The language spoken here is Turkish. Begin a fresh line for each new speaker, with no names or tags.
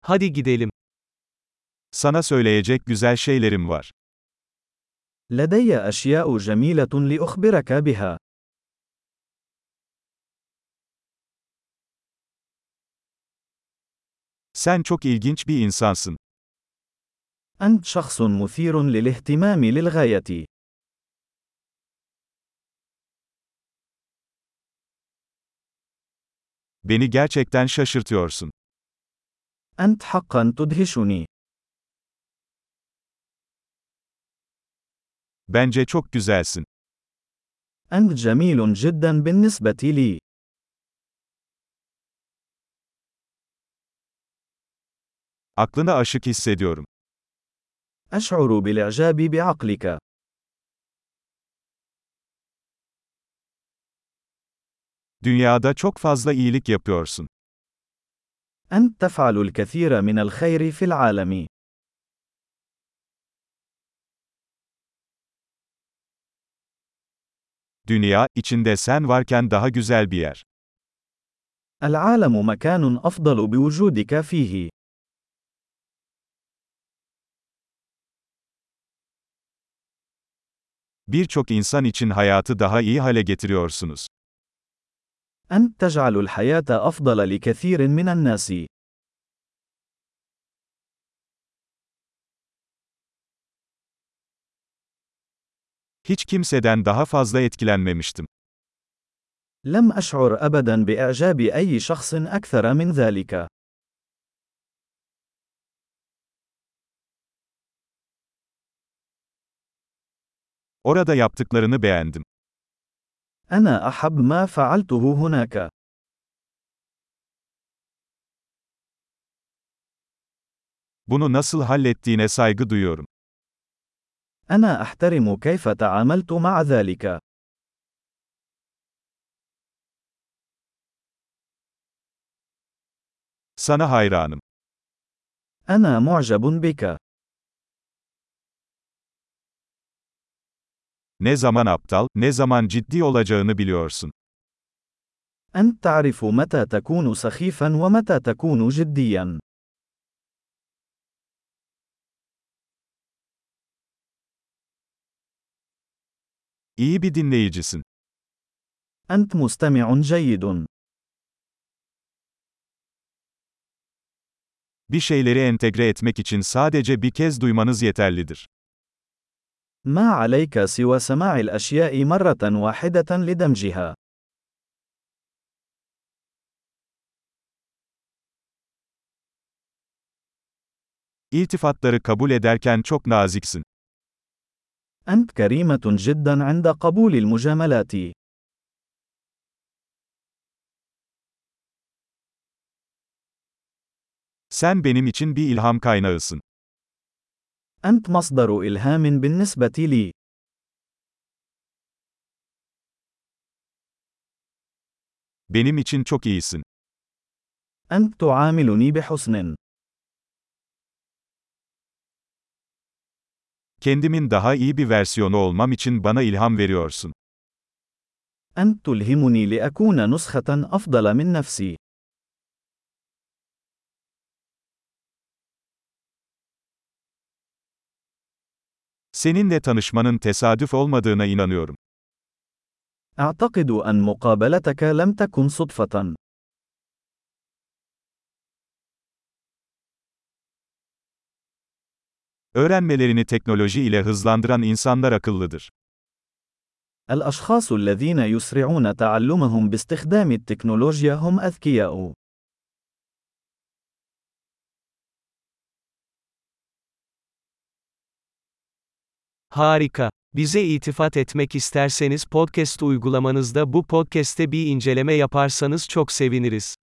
Hadi gidelim.
Sana söyleyecek güzel şeylerim var.
لدي أشياء جميلة لأخبرك بها.
Sen çok ilginç bir insansın.
أنت شخص مثير للاهتمام للغاية.
Beni gerçekten şaşırtıyorsun.
أنت حقا تدهشني.
Bence çok güzelsin.
أنت جميل جدا بالنسبة لي.
Aklına aşık hissediyorum.
أشعر بالإعجاب بعقلك.
Dünyada çok fazla iyilik yapıyorsun.
أنت تفعل الكثير من الخير في العالم.
Dünya, içinde sen varken daha güzel bir yer.
العالم مكان أفضل بوجودك فيه.
Birçok insan için hayatı daha iyi hale getiriyorsunuz.
أنت تجعل الحياة أفضل لكثير من الناس.
Hiç kimseden daha fazla etkilenmemiştim.
لم أشعر أبدا بإعجاب أي شخص أكثر من ذلك.
Orada yaptıklarını beğendim.
أنا أحب ما فعلته هناك.
Bunu nasıl hallettiğine saygı duyuyorum.
أنا أحترم كيف تعاملت مع ذلك.
Sana hayranım.
أنا معجب بك.
Ne zaman aptal, ne zaman ciddi olacağını biliyorsun.
أنت تعرف متى تكون سخيفا ومتى تكون جديا.
İyi bir dinleyicisin.
أنت مستمع جيد.
Bir şeyleri entegre etmek için sadece bir kez duymanız yeterlidir.
ما عليك سوى سماع الأشياء مرة واحدة لدمجها.
İltifatları kabul ederken çok naziksin.
أنت كريمة جدا عند قبول المجاملات.
Sen benim için bir ilham kaynağısın.
أنت مصدر إلهام بالنسبة لي.
Benim için çok iyisin.
أنت تعاملني بحسن.
Kendimin daha iyi bir versiyonu olmam için bana ilham veriyorsun.
أنت تلهمني لأكون نسخة أفضل من نفسي.
Seninle tanışmanın tesadüf olmadığına inanıyorum.
أعتقد أن مقابلتك لم تكن صدفة.
Öğrenmelerini teknoloji ile hızlandıran insanlar akıllıdır.
الأشخاص الذين يسرعون تعلمهم باستخدام التكنولوجيا هم أذكياء.
Harika. Bize iltifat etmek isterseniz podcast uygulamanızda bu podcast'te bir inceleme yaparsanız çok seviniriz.